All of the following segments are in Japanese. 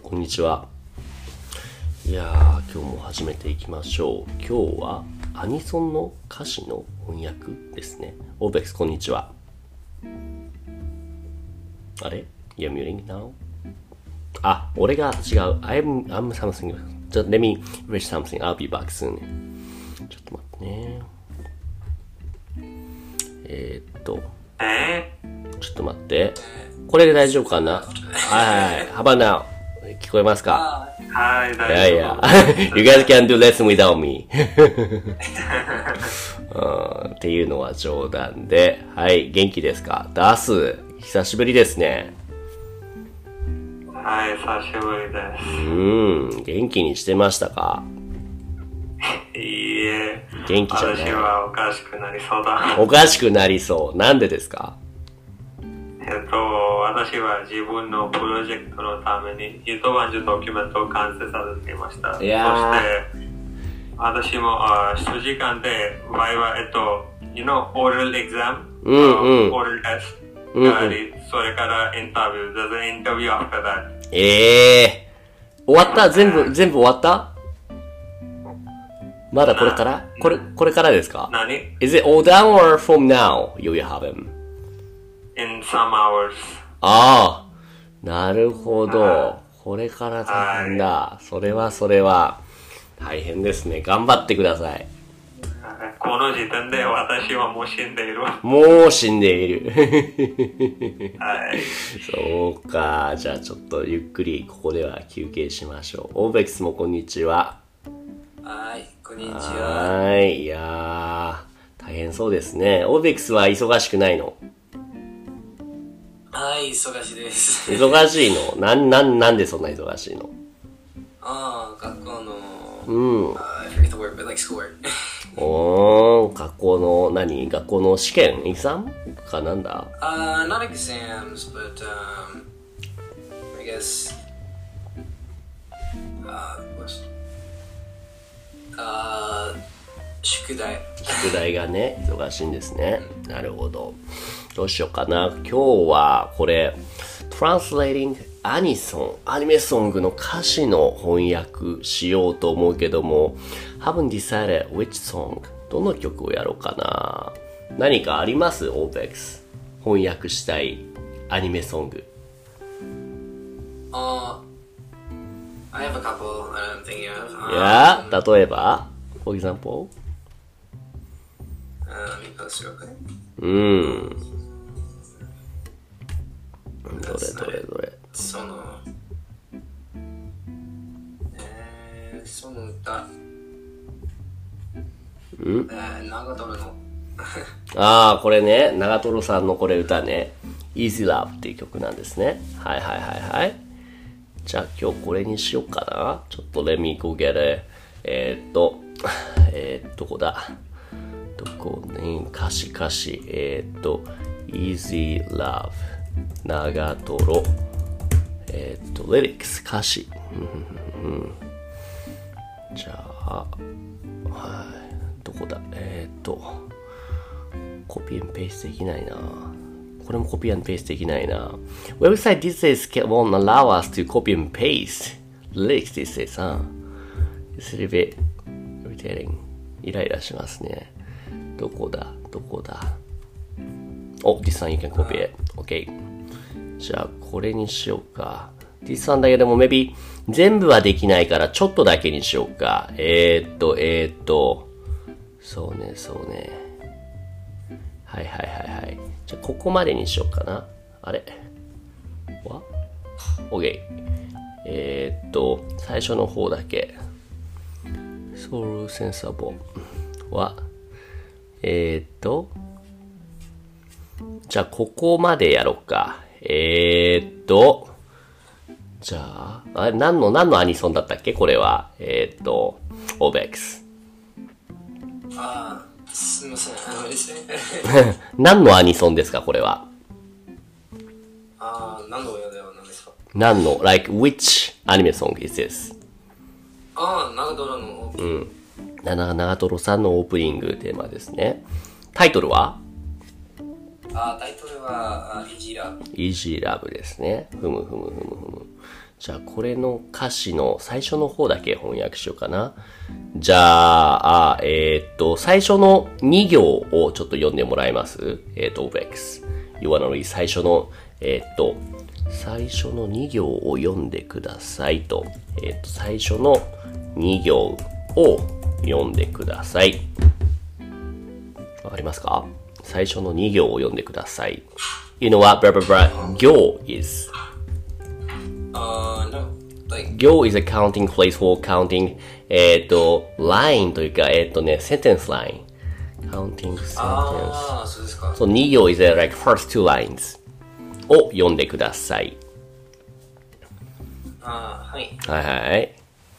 こんにちは。いやー、今日も始めていきましょう。今日はアニソンの歌詞の翻訳ですね。オーベックス、こんにちは。あれ ?You're muting now? あ、俺が違う。I'm something. Just let me reach something. I'll be back soon. ちょっと待ってね。ちょっと待って。これで大丈夫かな？はい。How about now? 聞こえますか？ はい、 大丈夫。You guys can do lesson without me. っていうのは冗談で。はい、元気ですか？ダース、久しぶりですね。 はい、久しぶりです。 元気にしてましたか？ いいえ。 元気じゃない。 私はおかしくなりそうだ。 おかしくなりそう。なんでですか？ 私は自分のプロジェクトのために一晩中ドキュメントを完成させていました。そして私も数時間でバイバoral exam、oral test があり、それからインタビュー、there's an interview after that。 終わった？全部終わった？まだこれから？これからですか？ 何？ Is it all done or from now you will have him? In some hours。 ああ、なるほど。これから大変だ。それは大変ですね。頑張ってください。 この時点で私はもう死んでいる。 もう死んでいる。 はい。 そうか。じゃあちょっとゆっくりここでは休憩しましょう。オーベックスもこんにちは。 はい、こんにちは。 はい。いやー、大変そうですね。オーベックスは忙しくないの？ はい、忙しいです。 忙しいの？なんでそんな忙しいの？ 学校の、I forget the word, but like schoolwork. 学校の学校の試験エグザムかなんだ？ Not exams, but I guess,宿題がね、忙しいんですね。なるほど。どうしようかな。今日はこれ Translating アニメソングの歌詞の翻訳しようと思うけども Haven't decided which song どの曲をやろうかな。何かあります？オーベックス翻訳したいアニメソング。 I have a couple I'm thinking of. いや、例えば For example? Let me post real quick. どれその歌長瀞のこれね、長瀞さんのこれ歌ね Easy Love っていう曲なんですね。はいじゃあ今日これにしようかな。ちょっと Let me go get it どこだどこね、歌詞Easy Love 長瀞Lyrics 歌詞じゃあどこだコピーペーストできないな。これもコピーペーストできないな。Website these days won't allow us to copy and paste lyrics these days, huh? It's a little bit irritating. イライラしますね。どこだthis one you can copy it. OK. じゃあこれにしようか。this one だけでも maybe 全部はできないからちょっとだけにしようか。そうね。はい。じゃあここまでにしようかな。あれ？OK。最初の方だけ。Soul Sensible はじゃあここまでやろうか。じゃあ何のアニソンだったっけこれは。オーベックス。 すみません。 何のアニソンですかこれは。 何の歌では何ですか？ like which anime song is this? 長瀞のオープニング。 長瀞さんのオープニングテーマですね。タイトルは？ タイトルは、イージーラブ。 イージーラブですね。ふむ。 じゃあこれの歌詞の最初の方だけ翻訳しようかな。じゃあ、最初の2行をちょっと読んでもらえます？OVEX。You wanna read 最初の、最初の2行を読んでくださいと。最初の2行を読んでください。わかりますか？最初の2行を読んでください。You know what? Blah, blah, blah. 行 is no. Like, 行 is a counting place for counting, line というか、sentence line. Counting sentence. そうですか。 そう、2行 is like first two lines を読んでください。 はい。 はいはい。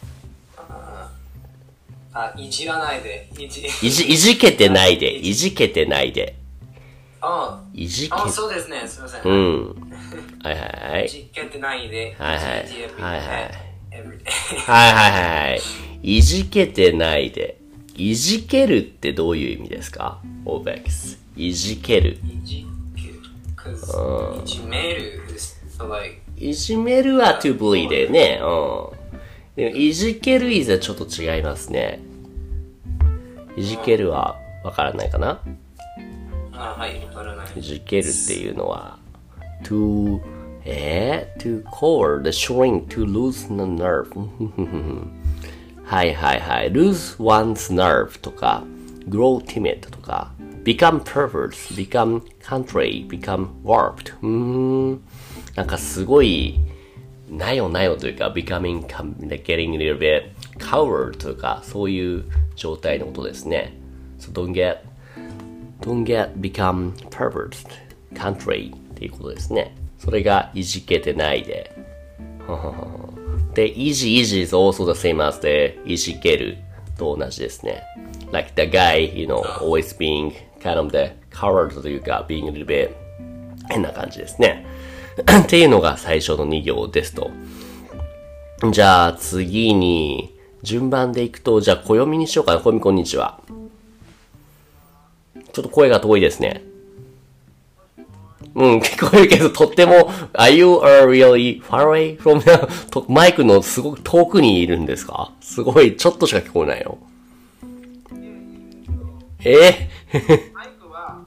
いじらないで。いじけてないで。いじけてないで。いじけ。 そうですね。すみません。 うん。はいはい。 いじけてないで。 はいはい。はいはい。 はいはいはい。いじけてないで。いじけるってどういう意味ですか？ OVEX。いじける。 いじける。いじめる。 いじめるは to bully でね。でもいじける is はちょっと違いますね。いじけるはわからないかな？ はい、わからない。 いじけるっていうのは to core the shrink to lose the nerve はいはいはい lose one's nerve とか grow timid とか become perverse become contrary become warped なんかすごいなよなよというか getting a little bit coward とかそういう状態のことですね。So don't become perverse contrary っていうことですね。それがいじけてないで。で、easy is also the same as the いじけると同じですね。Like the guy, always being kind of the coward というか being a little bit 変な感じですね。っていうのが最初の2行ですと。じゃあ次に順番でいくと、じゃあ暦にしようかな。暦こんにちは。ちょっと声が遠いですね。聞こえるけど、とっても、Are you really far away from the マイクのすごく遠くにいるんですか？すごい、ちょっとしか聞こえないよ。マイクは、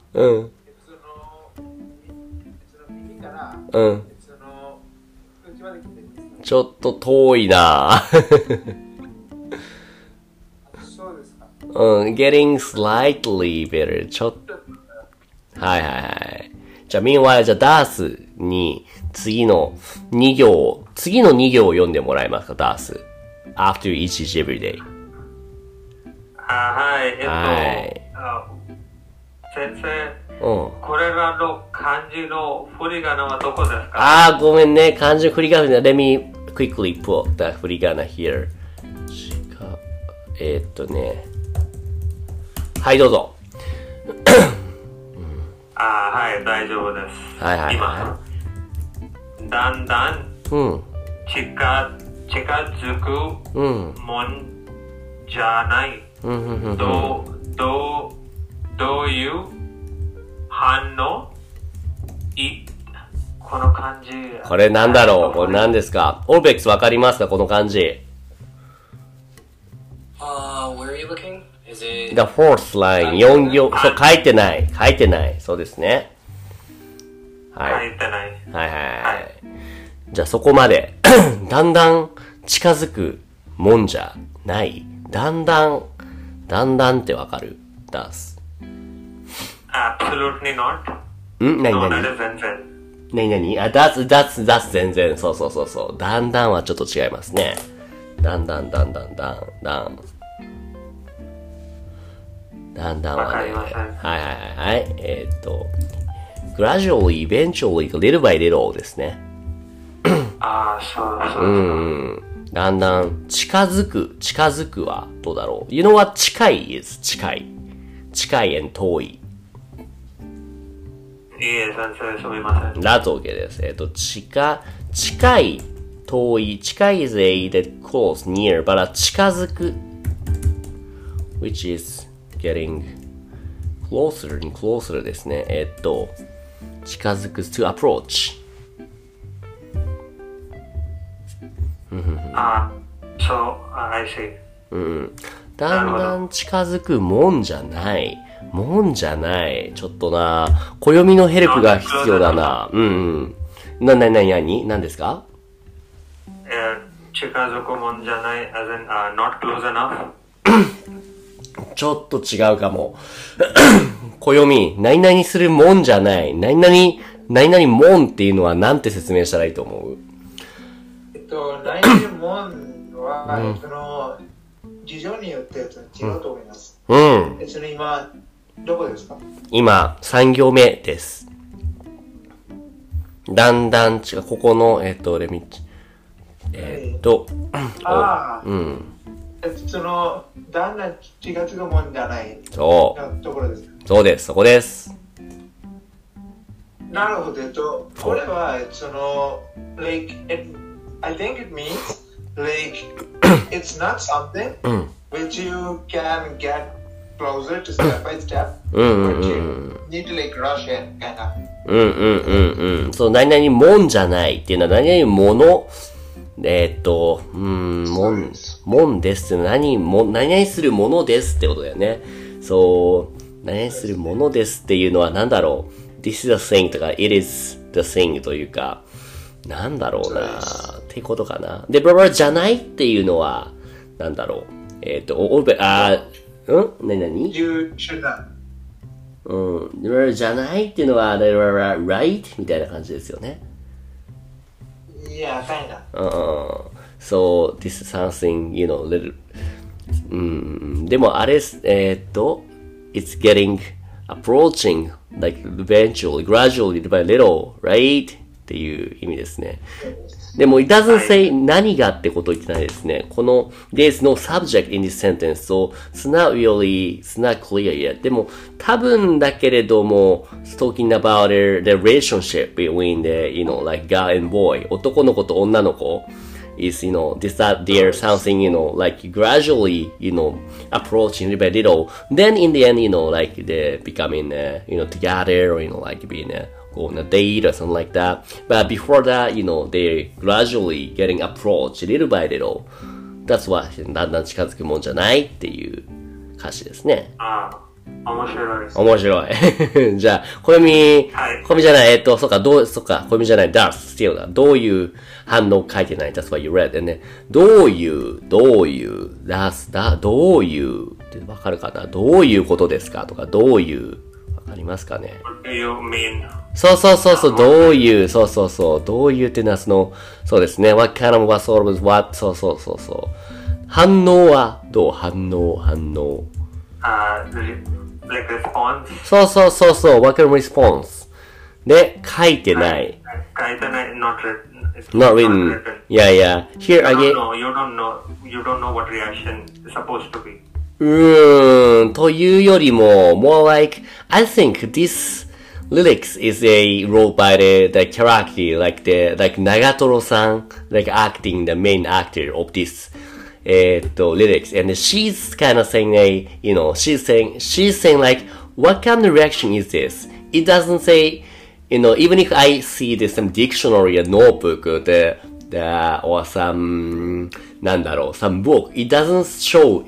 ちょっと遠いなそうですか。 getting slightly better. ちょっと。はいはいはい。じゃあ、meanwhile、じゃあ、ダースに次の2行を読んでもらえますか、ダース。after each every day。 はい。先生。これらの漢字の振り仮名はどこですか？ ごめんね。漢字の振り仮名。Let me quickly put the 振り仮名 here。はい、どうぞ。 はい、大丈夫です。 はいはい、 今、だんだん近づくもんじゃない。どういう反応？この漢字。 これなんだろう？これ何ですか？オーベックスわかりますか？この漢字。 Where are you looking? Is it... The fourth line, 4行。そう、書いてない。そうですね。はい。 書いてない。 はいはい。じゃあそこまで。だんだん近づくもんじゃない。だんだんってわかる？ダース。 Absolutely not. 何？that's 全然。そう。だんだんはちょっと違いますね。だんだんはね。 わかりません。 はい。gradually, eventually, little by little ですね。 そう。 だんだん近づくはどうだろう？ You know what? 近い is 近い and 遠い。 いいえ、先生、すみません。 That's okay です。近い、遠い、近い is a that close, near, but 近づく which is getting closer and closer ですね。近づく to approach。 So, I see. うん。だんだん近づくもんじゃない。もんじゃない。ちょっとな、暦のヘルプが必要だな。うんうん。何ですか？ 近づくもんじゃない、as in, not close enough. ちょっと違うかも。暦、何々するもんじゃない。何々もんっていうのは何て説明したらいいと思う？ 何々もんは、その、事情によって違うと思います。 うん。 その今、どこですか？ 今、3行目です。だんだん違う、ここの、レミッチ。うん。 その、だんだん気がつくもんじゃない。 そう。 ところです。 そうです、そこです。 なるほど。これは、その、like, I think it means, like, it's not something which you can get closer to step by step, but you need to, like, rush in, kind of. そう、何々もんじゃないっていうのは何々もの、もんですって何々するものですってことだよね。そう、何々するものですっていうのは何だろう。This is the thing とか It is the thing というか、なんだろうなってことかな。で、ブラじゃないっていうのは、なんだろう。何 You should not. じゃないっていうのは、right? みたいな感じですよね。 Yeah, kinda. So, this is something, little. でもあれ、it's getting, approaching, like, eventually, gradually, little by little, right? っていう意味ですね。でも、it doesn't say 何がってことを言ってないですね。この、there's no subject in this sentence, so it's not clear yet. でも、多分だけれども、talking about the relationship between the, like girl and boy. 男の子と女の子 is, that there's something, like gradually, approaching little by little. Then in the end, like they becoming, together or, like being, go on a date or something like that. But before that, they're gradually getting approached little by little. That's what だんだん近づくもんじゃないっていう歌詞ですね。 面白いです。 面白い。じゃあ、暦じゃない、そうか、暦じゃない、that's still だ。どういう反応書いてない、that's what you read. でね、どういう、that's だ、どういうってわかるかな？どういうことですかとか、どういう、わかりますかね？ What do you mean? そう、どういう、どういうっていうのはそうですね。what kind of, what sort of, what, そう。反応はどう？反応。 like response? そう。what kind of response? で、書いてない。 not written. Yeah. Here again. You don't know what reaction is supposed to be. というよりも、more like, I think this lyrics is wrote by the character, like Nagatoro-san, like acting the main actor of this, lyrics. And she's kind of saying she's saying like, what kind of reaction is this? It doesn't say, even if I see this some dictionary or notebook or or some book, it doesn't show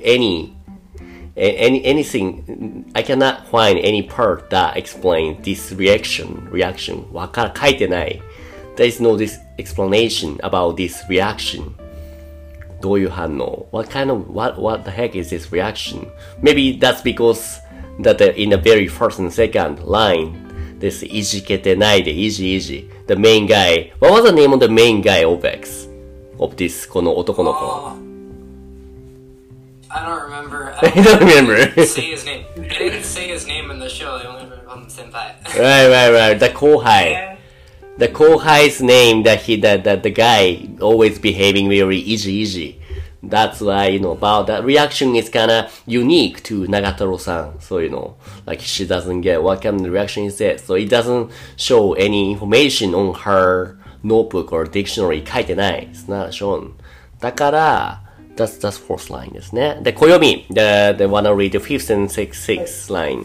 anything. I cannot find any part that explains this reaction. 書いてない。There is no this explanation about this reaction. どういう反応 what the heck is this reaction? Maybe that's because that in the very first and second line, this いじけてないで、いじ。The main guy. What was the name of the main guy of X? Of this, この男の子。 I don't remember. I don't remember. Say his name. They didn't say his name in the show. They only called him Senpai. Right. The 後輩。The 後輩's name that the guy always behaving very easy. That's why, about that reaction is kinda unique to Nagatoro-san. So, like she doesn't get what kind of reaction is that. So it doesn't show any information on her notebook or dictionary. 書いてない。It's not shown. だから、That's fourth line ですね。で、暦。They wanna read the fifth and sixth line.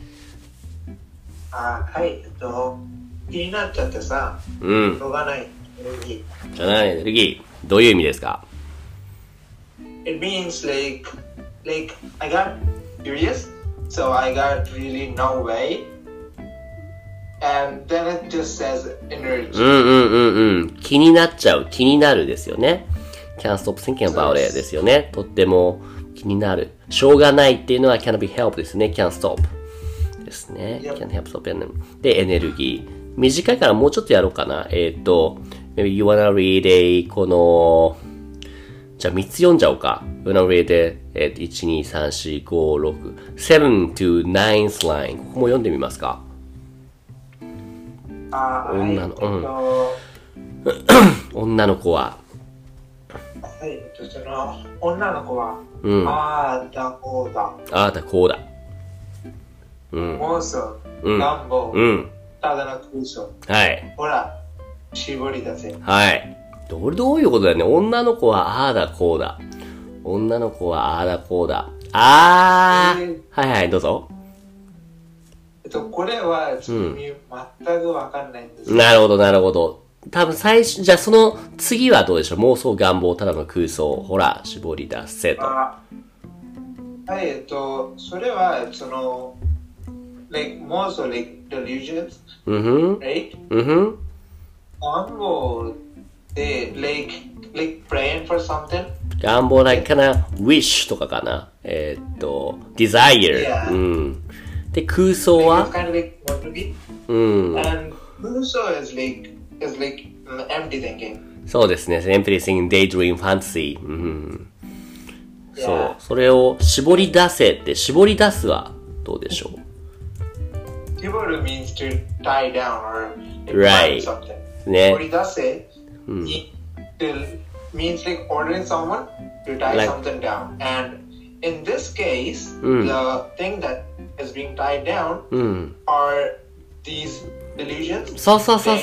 はい。気になっちゃってさ。しょうがない。 じゃない、エネルギー。 どういう意味ですか？ It means like I got curious, so I got really no way, and then it just says energy. 気になっちゃう、気になるですよね。can't stop thinking about it ですよね。とっても気になる。しょうがないっていうのは can't be helped ですね。can't stop ですね。 Yep. can't help stop で、エネルギー。短いからもうちょっとやろうかな。maybe you wanna read a この、じゃあ3つ読んじゃおうか。you wanna read it 1, 2, 3, 4, 5, 6, 7 to 9th line。ここも読んでみますか。女の子は、 はい、その女の子は、ああだこうだ。 ああだこうだ。 妄想、願望、ただの空想。 はい。 ほら、絞り出せ。 はい。どういうことだよね。女の子はああだこうだ。女の子はああだこうだ。はいはい、どうぞ。 これは、全くわかんないんです。 なるほど。多分最初、じゃあその次はどうでしょう。妄想、願望、ただの空想。ほら、絞り出せと。 はい、それは、その、妄想、delusions, right? 願望で、praying for something? 願望、かな、wish とかかな。desire。で、空想は ？Kind of like want to be. And 空想 is like empty thinking. そうですね。empty thinking, daydream, fantasy. そう。それを絞り出せって、絞り出すはどうでしょう？ 絞る means to tie down or right. something. ね。 絞り出せ means like ordering someone to tie something down. And in this case, the thing that is being tied down are these delusions. そう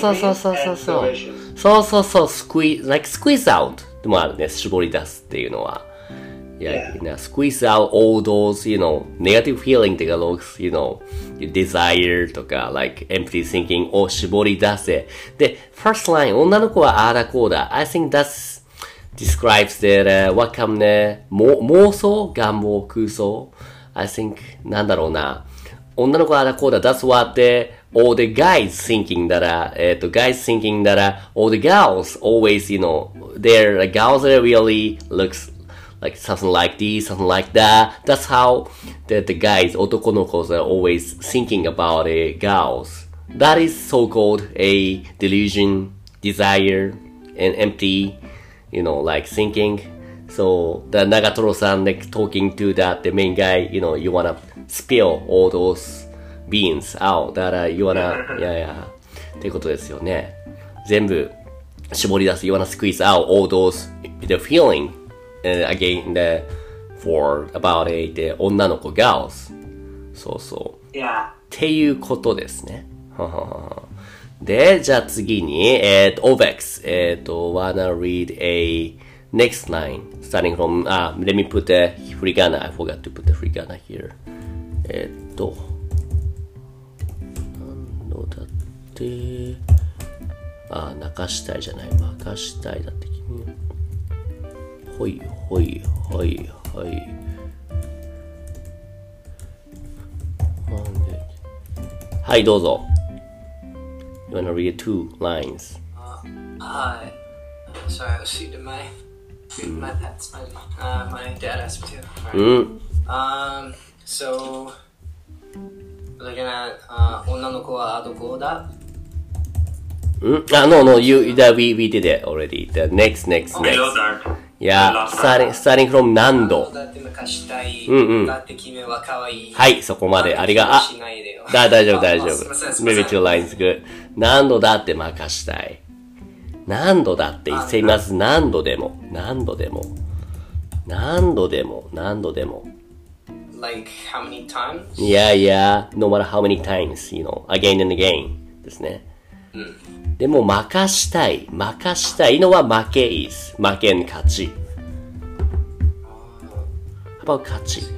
。squeeze out でもあるね。絞り出すっていうのは。squeeze out all those, negative feeling とか、desire とか、empty thinking を絞り出せ。で、first line、女の子はああだこうだ。I think that's describes that, what come ね、妄想、願望、空想。I think, なんだろうな。女の子はああだこうだ。That's what all the guys thinking that, all the girls always, their girls that really looks like something like this, something like that. That's how the guys, 男の子 are always thinking about girls. That is so-called a delusion, desire, and empty, thinking. So the Nagatoro-san talking to the main guy, you wanna spill all those beans out. That you wanna, っていうことですよね。全部絞り出す。You wanna squeeze out all those, the feeling.again for about the 女の子 girls そう、っていうことですねでじゃあ次にOVEX wanna read a next line starting from let me put the hiragana. I forgot to put the hiragana here 何のだって泣かしたいじゃない任したいだって君ほい。はい、どうぞ。You wanna read 2 lines? Hi. Sorry, I was feeding my pets. My dad asked me to. So, looking at 女の子はどこだ No, we did it already. The next. Yeah, starting from 何度。はい、そこまで。大丈夫。Maybe 2 lines good. 何度だって任したい。何度だって言っています。何度でも。 Like, how many times? Yeah, no matter how many times, again and again ですね。でも任したいのは負け is 負けん勝ち。How about 勝ち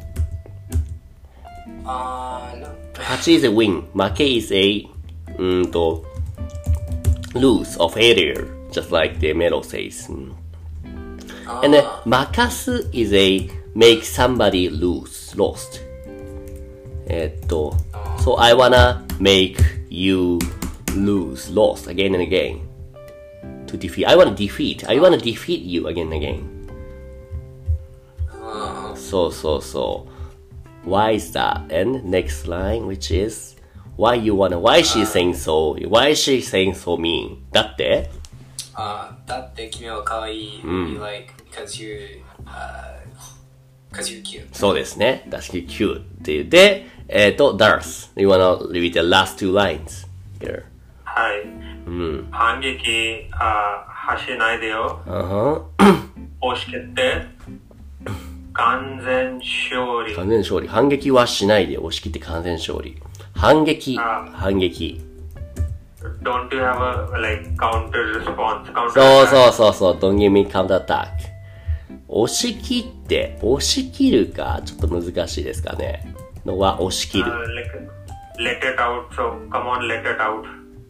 ？No. 勝ち is a win 負け is a lose or failure just like the Melo says. And then, 任す is a make somebody lost. So I wanna make you lost again and again. To defeat. I wanna defeat you again and again. So. Why is that? And next line, which is, why she's saying so mean? だってだって君は可愛い。You like, because you're cute. そうですね。確かに cute っていう。で、Darth. You wanna read the last two lines here. はい。反撃、しないでよ。押し切って。完全勝利。 反撃はしないで押し切って完全勝利。反撃。 Don't you have a like counter response? そう。Don't give me counter attack. 押し切るかちょっと難しいですかね。のは押し切る。 Let it out. So come on, let it out.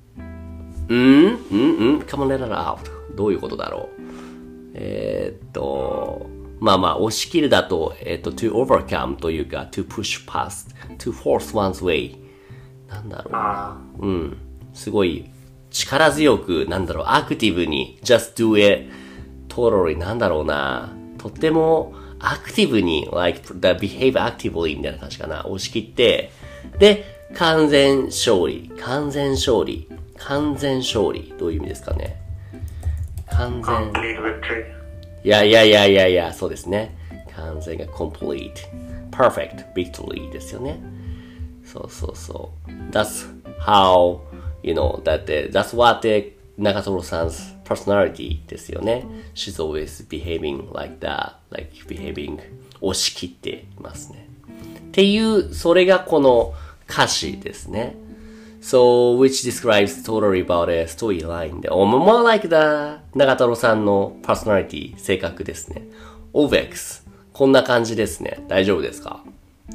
Come on, let it out. どういうことだろう。まあ、押し切るだと、to overcome というか、to push past, to force one's way. なんだろう。すごい力強く、アクティブに、just do it, totally, なんだろうな。とってもアクティブに、like, behave actively みたいな感じかな。押し切って、で、完全勝利。どういう意味ですかね。 Complete victory. いや、そうですね。完全が complete, perfect victory ですよね。そう。That's how, that's what Nagatoro san's personality ですよね。She's always behaving like that, like behaving 押し切っていますね。っていう、それがこの歌詞ですね。So, which describes totally about a storyline. More like the 長太郎さんの personality, 性格ですね。OVEX、こんな感じですね。大丈夫ですか？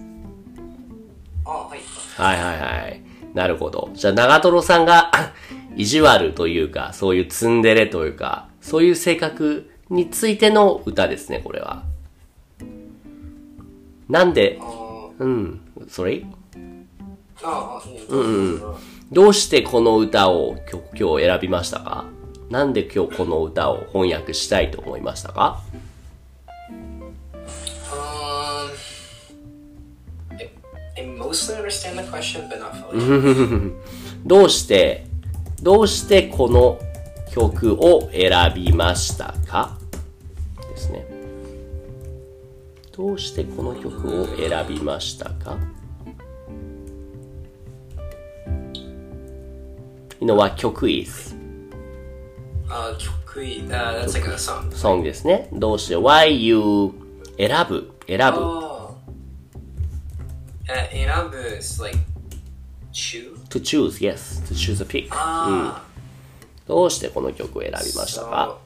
はい。 はい。なるほど。じゃあ長太郎さんが意地悪というか、そういうツンデレというか、そういう性格についての歌ですね、これは。なんで、sorry？どうしてこの歌を今日選びましたか？なんで今日この歌を翻訳したいと思いましたか？ I mostly understand the question, but not fully. どうしてこの曲を選びましたか？ですね。どうしてこの曲を選びましたか？You know what 曲 is? 曲 that's like a song. Song ですね。どうして Why you 選ぶ。選ぶ is like choose? To choose, yes. To choose a pick. どうしてこの曲を選びましたか？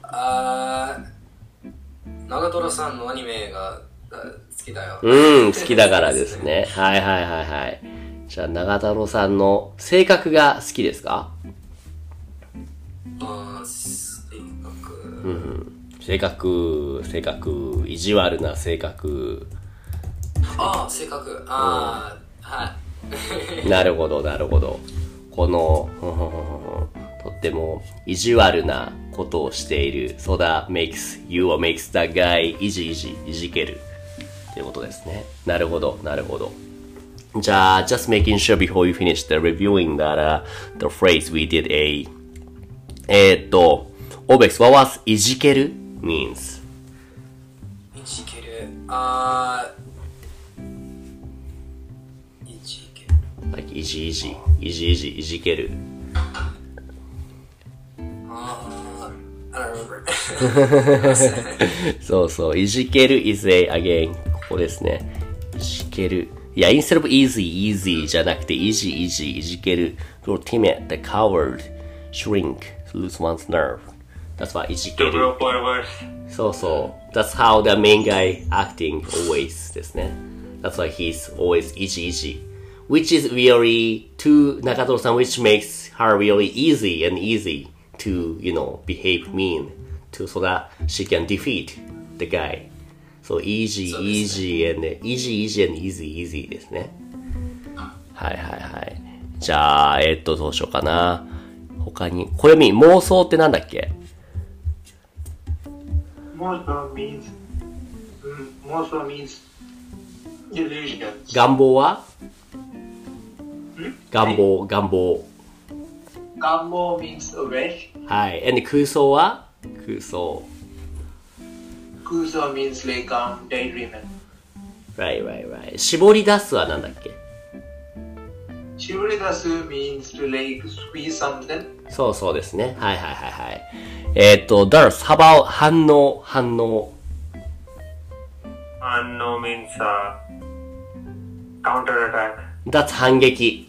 長瀞さんのアニメが好きだよ。 好きだからですね。はい。じゃあ長太郎さんの性格が好きですか？性格、意地悪な性格。 性格。はい。 なるほど。この、とっても意地悪なことをしている。So that makes that guy いじける。っていうことですね。なるほど。じゃあ、just making sure before you finish the reviewing that the phrase we did Obex, what was いじける means? いじける。 like いじける。 I don't remember. そう、いじける is again, ここですね。いじける。いや、instead of easy じゃなくて、いじける。Grow timid, the coward, shrink, lose one's nerve. That's why いじける。そう。That's how the main guy acting always ですね。That's why he's always いじ。Which is really to 中藤さん which makes her really easy to, behave mean to so that she can defeat the guy. So easy, easy and easy and easy ですね。はいはいはい。じゃあ、どうしようかな。他に、暦、妄想ってなんだっけ？ 妄想 means delusions. 願望は？願望。 願望 means a wish. はい。and 空想は？空想 means like daydreaming. Right. 絞り出すはなんだっけ？ 絞り出す means to like squeeze something. そうですね。はい。Darth, how about 反応。 反応 means counter attack. That's 反撃。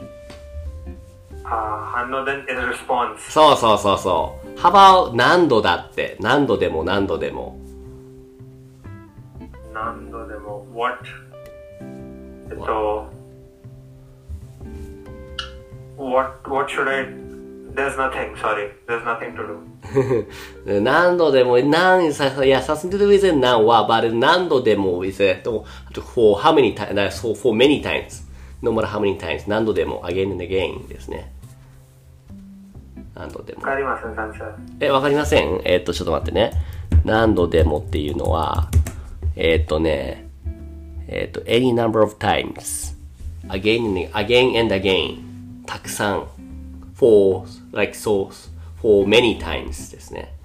反応 then is response. そう。How about 何度だって。何度でも。 What? What should I? There's nothing. Sorry, there's nothing to do. 何度でも、something to do with it now は、but 何度でも with it. For how many times? For many times. No matter how many times. 何度でも again and again ですね。何度でも。 わかりません、先生。 わかりません？ちょっと待ってね。何度でもっていうのは、any number of times. Again and again. たくさん。for many times ですね。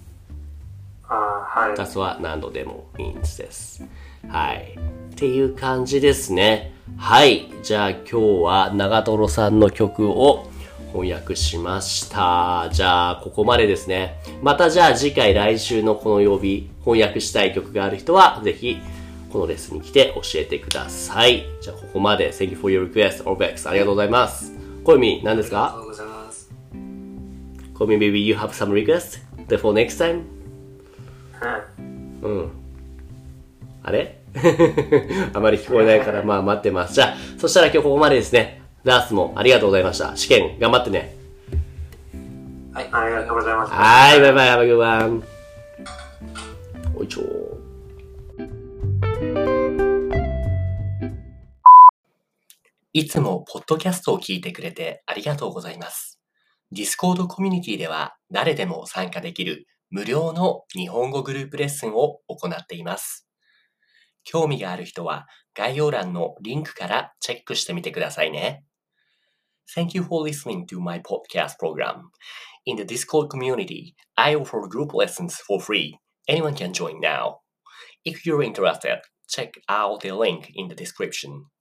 はい。 that's what 何度でも means です。はい。っていう感じですね。はい。じゃあ今日は長瀞さんの曲を翻訳しました。じゃあここまでですね。またじゃあ次回来週のこの曜日翻訳したい曲がある人はぜひこのレッスンに来て教えてください。じゃあここまで Thank you for your request, Orbex ありがとうございます。小泉何ですか？ ありがとうございます。 小泉 maybe you have some request for next time? あれあまり聞こえないからまあ待ってます。じゃあそしたら今日ここまでですね。ダースもありがとうございました。試験頑張ってね。 はい、 ありがとうございます。 はい、バイバイ、have a good one。おいちょいつもポッドキャストを聞いてくれてありがとうございます。Discord コミュニティでは誰でも参加できる無料の日本語グループレッスンを行っています。興味がある人は概要欄のリンクからチェックしてみてくださいね。Thank you for listening to my podcast program. In the Discord community, I offer group lessons for free. Anyone can join now. If you're interested, check out the link in the description.